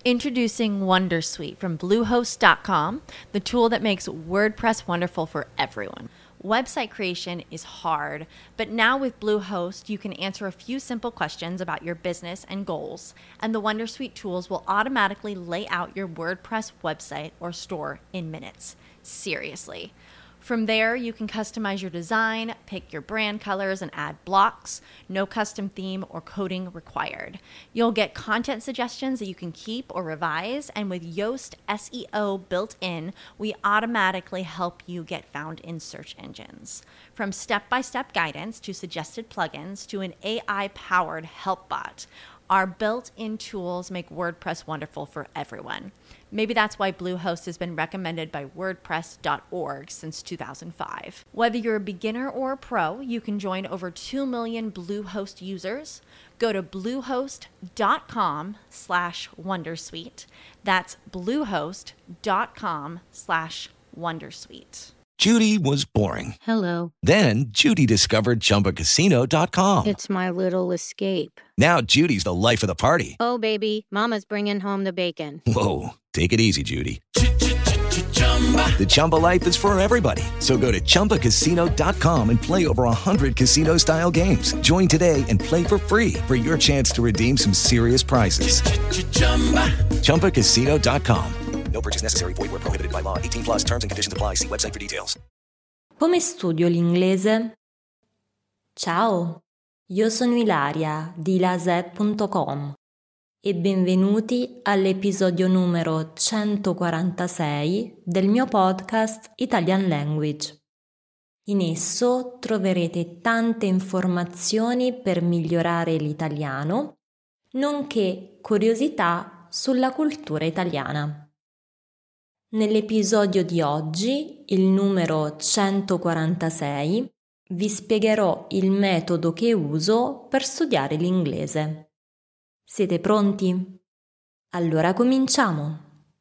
Introducing Wondersuite from Bluehost.com, the tool that makes WordPress wonderful for everyone. Website creation is hard, but now with Bluehost, you can answer a few simple questions about your business and goals, and the Wondersuite tools will automatically lay out your WordPress website or store in minutes. Seriously. From there, you can customize your design, pick your brand colors, and add blocks. No custom theme or coding required. You'll get content suggestions that you can keep or revise, and with Yoast SEO built in, we automatically help you get found in search engines. From step-by-step guidance to suggested plugins to an AI-powered help bot, our built-in tools make WordPress wonderful for everyone. Maybe that's why Bluehost has been recommended by WordPress.org since 2005. Whether you're a beginner or a pro, you can join over 2 million Bluehost users. Go to bluehost.com/wondersuite. That's bluehost.com/wondersuite. Judy was boring. Hello. Then Judy discovered ChumbaCasino.com. It's my little escape. Now Judy's the life of the party. Oh, baby, mama's bringing home the bacon. Whoa, take it easy, Judy. The Chumba life is for everybody. So go to ChumbaCasino.com and play over 100 casino-style games. Join today and play for free for your chance to redeem some serious prizes. ChumbaCasino.com. No purchase necessary. Void where prohibited by law. 18 plus terms and conditions apply. See website for details. Come studio l'inglese? Ciao, io sono Ilaria di ilaset.com e benvenuti all'episodio numero 146 del mio podcast Italian Language. In esso troverete tante informazioni per migliorare l'italiano, nonché curiosità sulla cultura italiana. Nell'episodio di oggi, il numero 146, vi spiegherò il metodo che uso per studiare l'inglese. Siete pronti? Allora cominciamo!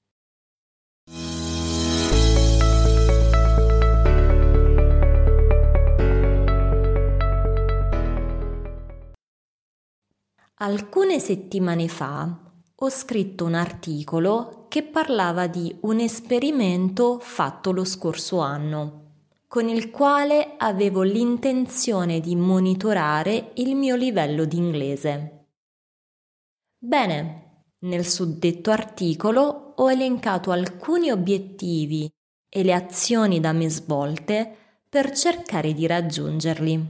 Alcune settimane fa ho scritto un articolo che parlava di un esperimento fatto lo scorso anno, con il quale avevo l'intenzione di monitorare il mio livello di inglese. Bene, nel suddetto articolo ho elencato alcuni obiettivi e le azioni da me svolte per cercare di raggiungerli.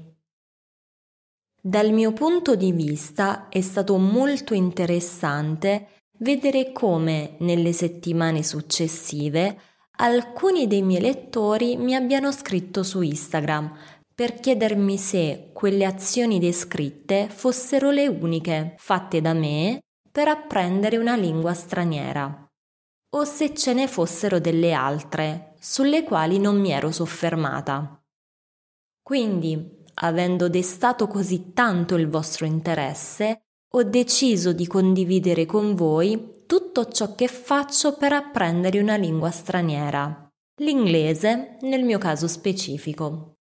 Dal mio punto di vista è stato molto interessante vedere come nelle settimane successive alcuni dei miei lettori mi abbiano scritto su Instagram per chiedermi se quelle azioni descritte fossero le uniche fatte da me per apprendere una lingua straniera, o se ce ne fossero delle altre sulle quali non mi ero soffermata. Quindi, avendo destato così tanto il vostro interesse, ho deciso di condividere con voi tutto ciò che faccio per apprendere una lingua straniera, l'inglese nel mio caso specifico.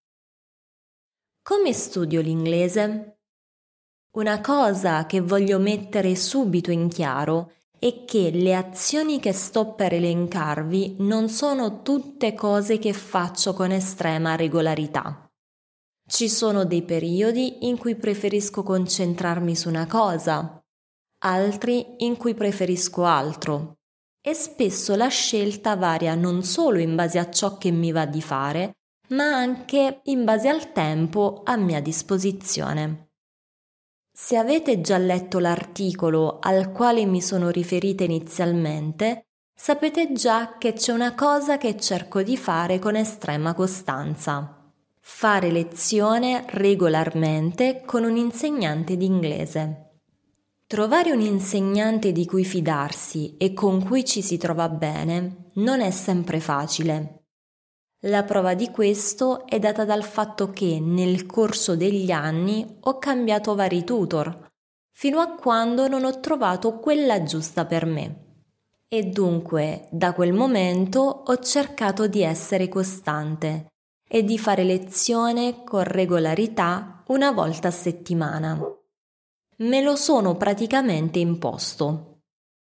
Come studio l'inglese? Una cosa che voglio mettere subito in chiaro è che le azioni che sto per elencarvi non sono tutte cose che faccio con estrema regolarità. Ci sono dei periodi in cui preferisco concentrarmi su una cosa, altri in cui preferisco altro, e spesso la scelta varia non solo in base a ciò che mi va di fare, ma anche in base al tempo a mia disposizione. Se avete già letto l'articolo al quale mi sono riferita inizialmente, sapete già che c'è una cosa che cerco di fare con estrema costanza. Fare lezione regolarmente con un insegnante di inglese. Trovare un insegnante di cui fidarsi e con cui ci si trova bene non è sempre facile. La prova di questo è data dal fatto che nel corso degli anni ho cambiato vari tutor, fino a quando non ho trovato quella giusta per me. E dunque, da quel momento ho cercato di essere costante e di fare lezione con regolarità una volta a settimana. Me lo sono praticamente imposto.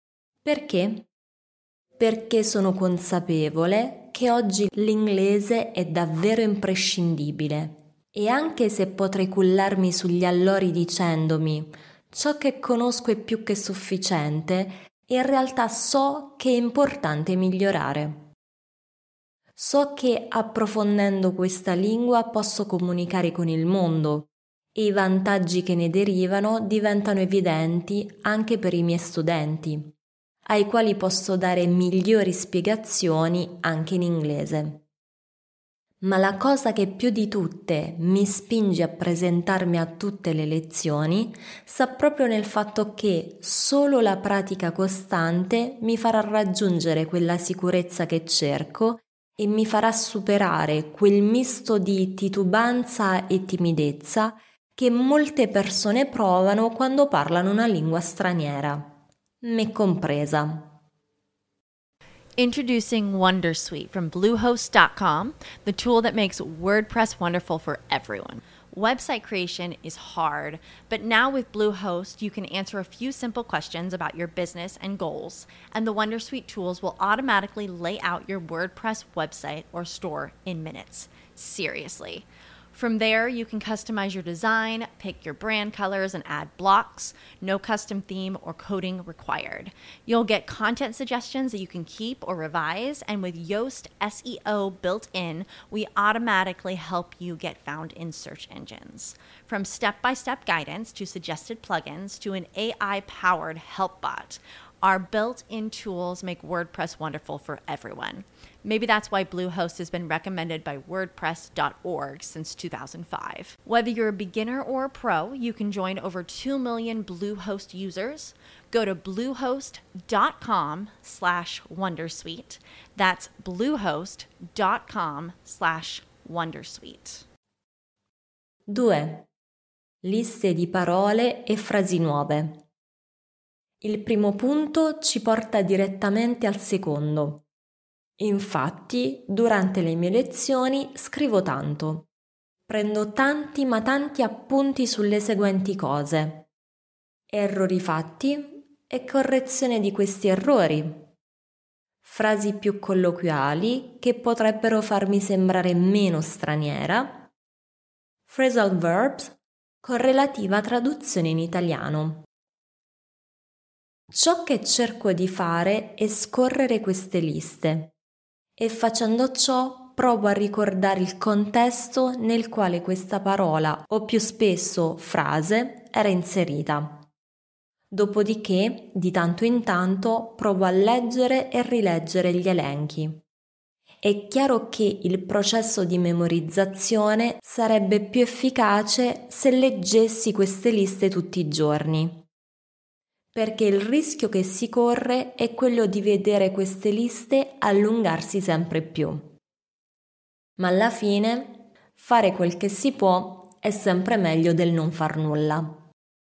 Perché? Perché sono consapevole che oggi l'inglese è davvero imprescindibile e anche se potrei cullarmi sugli allori dicendomi ciò che conosco è più che sufficiente, in realtà so che è importante migliorare. So che approfondendo questa lingua posso comunicare con il mondo e i vantaggi che ne derivano diventano evidenti anche per i miei studenti, ai quali posso dare migliori spiegazioni anche in inglese. Ma la cosa che più di tutte mi spinge a presentarmi a tutte le lezioni sta proprio nel fatto che solo la pratica costante mi farà raggiungere quella sicurezza che cerco e mi farà superare quel misto di titubanza e timidezza che molte persone provano quando parlano una lingua straniera, me compresa. Introducing Wondersuite from Bluehost.com, the tool that makes WordPress wonderful for everyone. Website creation is hard, but now with Bluehost, you can answer a few simple questions about your business and goals, and the Wondersuite tools will automatically lay out your WordPress website or store in minutes. Seriously. From there, you can customize your design, pick your brand colors, and add blocks. No custom theme or coding required. You'll get content suggestions that you can keep or revise, and with Yoast SEO built in, we automatically help you get found in search engines. From step-by-step guidance to suggested plugins to an AI-powered help bot, our built-in tools make WordPress wonderful for everyone. Maybe that's why Bluehost has been recommended by WordPress.org since 2005. Whether you're a beginner or a pro, you can join over 2 million Bluehost users. Go to bluehost.com/wondersuite. That's bluehost.com/wondersuite. 2. Liste di parole e frasi nuove. Il primo punto ci porta direttamente al secondo. Infatti, durante le mie lezioni scrivo tanto. Prendo tanti ma tanti appunti sulle seguenti cose: errori fatti e correzione di questi errori, frasi più colloquiali che potrebbero farmi sembrare meno straniera, phrasal verbs con relativa traduzione in italiano. Ciò che cerco di fare è scorrere queste liste e facendo ciò provo a ricordare il contesto nel quale questa parola o più spesso frase era inserita. Dopodiché, di tanto in tanto, provo a leggere e rileggere gli elenchi. È chiaro che il processo di memorizzazione sarebbe più efficace se leggessi queste liste tutti i giorni, perché il rischio che si corre è quello di vedere queste liste allungarsi sempre più. Ma alla fine, fare quel che si può è sempre meglio del non far nulla.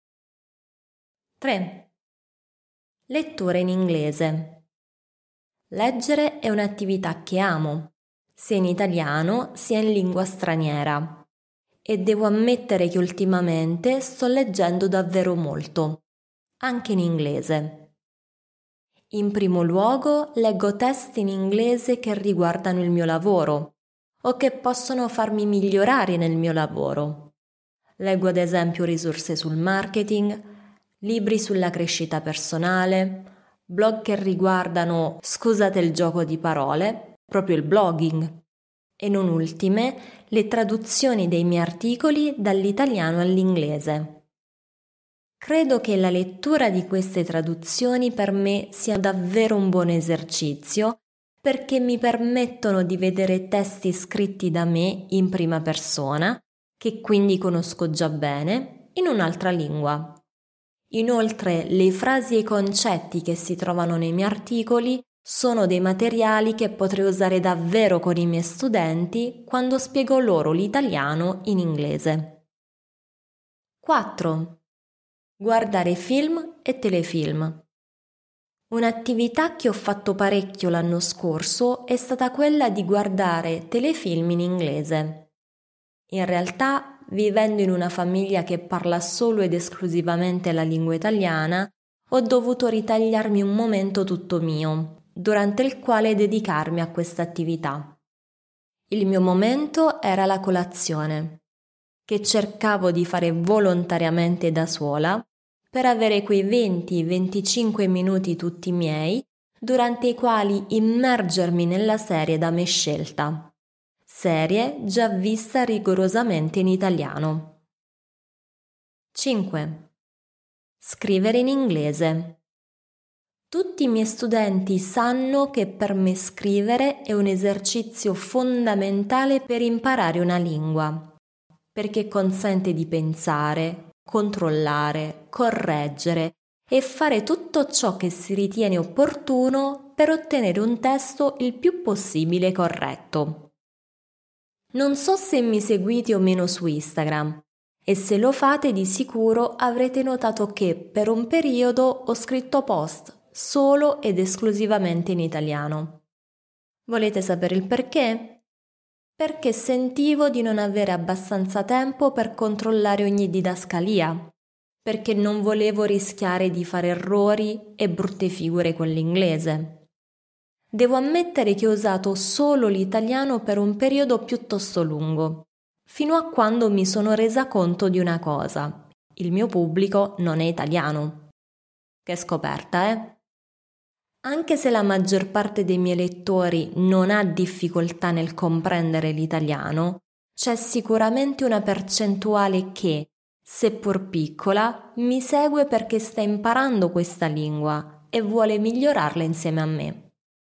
3. Lettura in inglese. Leggere è un'attività che amo, sia in italiano sia in lingua straniera, e devo ammettere che ultimamente sto leggendo davvero molto, anche in inglese. In primo luogo leggo testi in inglese che riguardano il mio lavoro o che possono farmi migliorare nel mio lavoro. Leggo ad esempio risorse sul marketing, libri sulla crescita personale, blog che riguardano, scusate il gioco di parole, proprio il blogging, e non ultime le traduzioni dei miei articoli dall'italiano all'inglese. Credo che la lettura di queste traduzioni per me sia davvero un buon esercizio perché mi permettono di vedere testi scritti da me in prima persona, che quindi conosco già bene, in un'altra lingua. Inoltre, le frasi e i concetti che si trovano nei miei articoli sono dei materiali che potrei usare davvero con i miei studenti quando spiego loro l'italiano in inglese. 4. Guardare film e telefilm. Un'attività che ho fatto parecchio l'anno scorso è stata quella di guardare telefilm in inglese. In realtà, vivendo in una famiglia che parla solo ed esclusivamente la lingua italiana, ho dovuto ritagliarmi un momento tutto mio, durante il quale dedicarmi a questa attività. Il mio momento era la colazione, che cercavo di fare volontariamente da sola per avere quei 20-25 minuti tutti miei, durante i quali immergermi nella serie da me scelta, serie già vista rigorosamente in italiano. 5. Scrivere in inglese. Tutti i miei studenti sanno che per me scrivere è un esercizio fondamentale per imparare una lingua, perché consente di pensare, controllare, correggere e fare tutto ciò che si ritiene opportuno per ottenere un testo il più possibile corretto. Non so se mi seguite o meno su Instagram, e se lo fate di sicuro avrete notato che per un periodo ho scritto post solo ed esclusivamente in italiano. Volete sapere il perché? Perché sentivo di non avere abbastanza tempo per controllare ogni didascalia, perché non volevo rischiare di fare errori e brutte figure con l'inglese. Devo ammettere che ho usato solo l'italiano per un periodo piuttosto lungo, fino a quando mi sono resa conto di una cosa: il mio pubblico non è italiano. Che scoperta, eh? Anche se la maggior parte dei miei lettori non ha difficoltà nel comprendere l'italiano, c'è sicuramente una percentuale che, seppur piccola, mi segue perché sta imparando questa lingua e vuole migliorarla insieme a me.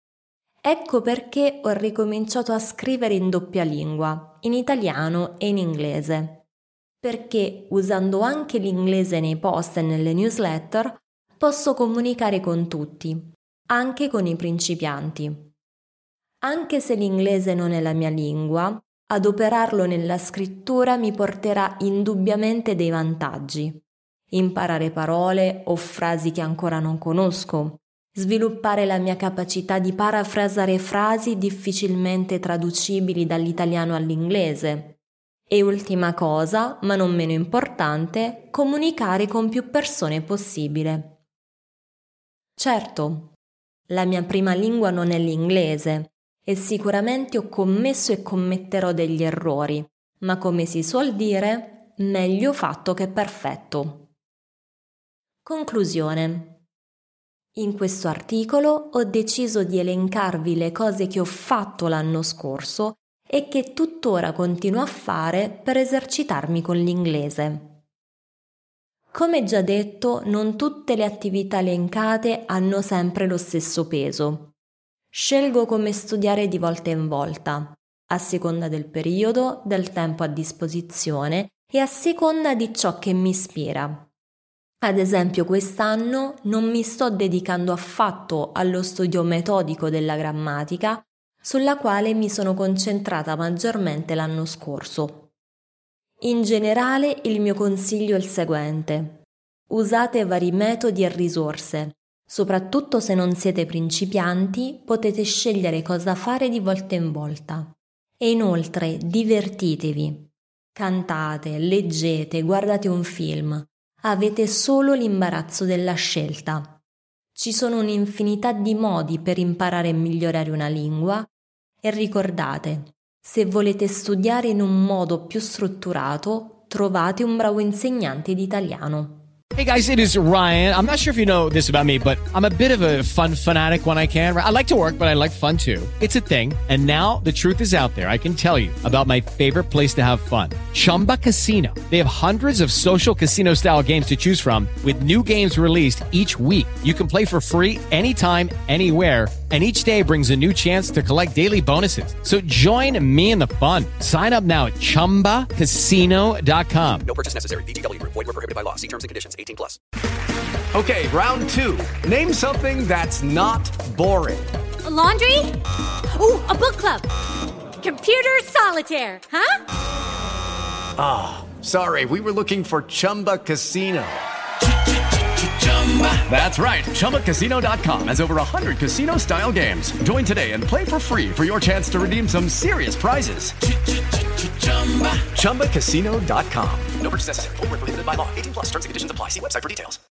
Ecco perché ho ricominciato a scrivere in doppia lingua, in italiano e in inglese, perché usando anche l'inglese nei post e nelle newsletter posso comunicare con tutti, anche con i principianti. Anche se l'inglese non è la mia lingua, adoperarlo nella scrittura mi porterà indubbiamente dei vantaggi. Imparare parole o frasi che ancora non conosco, sviluppare la mia capacità di parafrasare frasi difficilmente traducibili dall'italiano all'inglese e, ultima cosa, ma non meno importante, comunicare con più persone possibile. Certo, la mia prima lingua non è l'inglese e sicuramente ho commesso e commetterò degli errori, ma come si suol dire, meglio fatto che perfetto. Conclusione. In questo articolo ho deciso di elencarvi le cose che ho fatto l'anno scorso e che tuttora continuo a fare per esercitarmi con l'inglese. Come già detto, non tutte le attività elencate hanno sempre lo stesso peso. Scelgo come studiare di volta in volta, a seconda del periodo, del tempo a disposizione e a seconda di ciò che mi ispira. Ad esempio, quest'anno non mi sto dedicando affatto allo studio metodico della grammatica, sulla quale mi sono concentrata maggiormente l'anno scorso. In generale, il mio consiglio è il seguente: usate vari metodi e risorse. Soprattutto se non siete principianti, potete scegliere cosa fare di volta in volta. E inoltre, divertitevi. Cantate, leggete, guardate un film. Avete solo l'imbarazzo della scelta. Ci sono un'infinità di modi per imparare e migliorare una lingua e ricordate, se volete studiare in un modo più strutturato, trovate un bravo insegnante di italiano. Hey guys, it is Ryan. I'm not sure if you know this about me, but I'm a bit of a fun fanatic when I can. I like to work, but I like fun too. It's a thing. And now the truth is out there. I can tell you about my favorite place to have fun. Chumba Casino. They have hundreds of social casino style games to choose from with new games released each week. You can play for free anytime, anywhere. And each day brings a new chance to collect daily bonuses. So join me in the fun. Sign up now at ChumbaCasino.com. No purchase necessary. VGW Group. Void where prohibited by law. See terms and conditions. 18+. Okay, round two. Name something that's not boring. A laundry? Ooh, a book club. Computer solitaire, huh? Ah, sorry. We were looking for Chumba Casino. That's right. ChumbaCasino.com has over 100 casino-style games. Join today and play for free for your chance to redeem some serious prizes. ChumbaCasino.com. No purchase necessary. Void where prohibited by law. 18+. Terms and conditions apply. See website for details.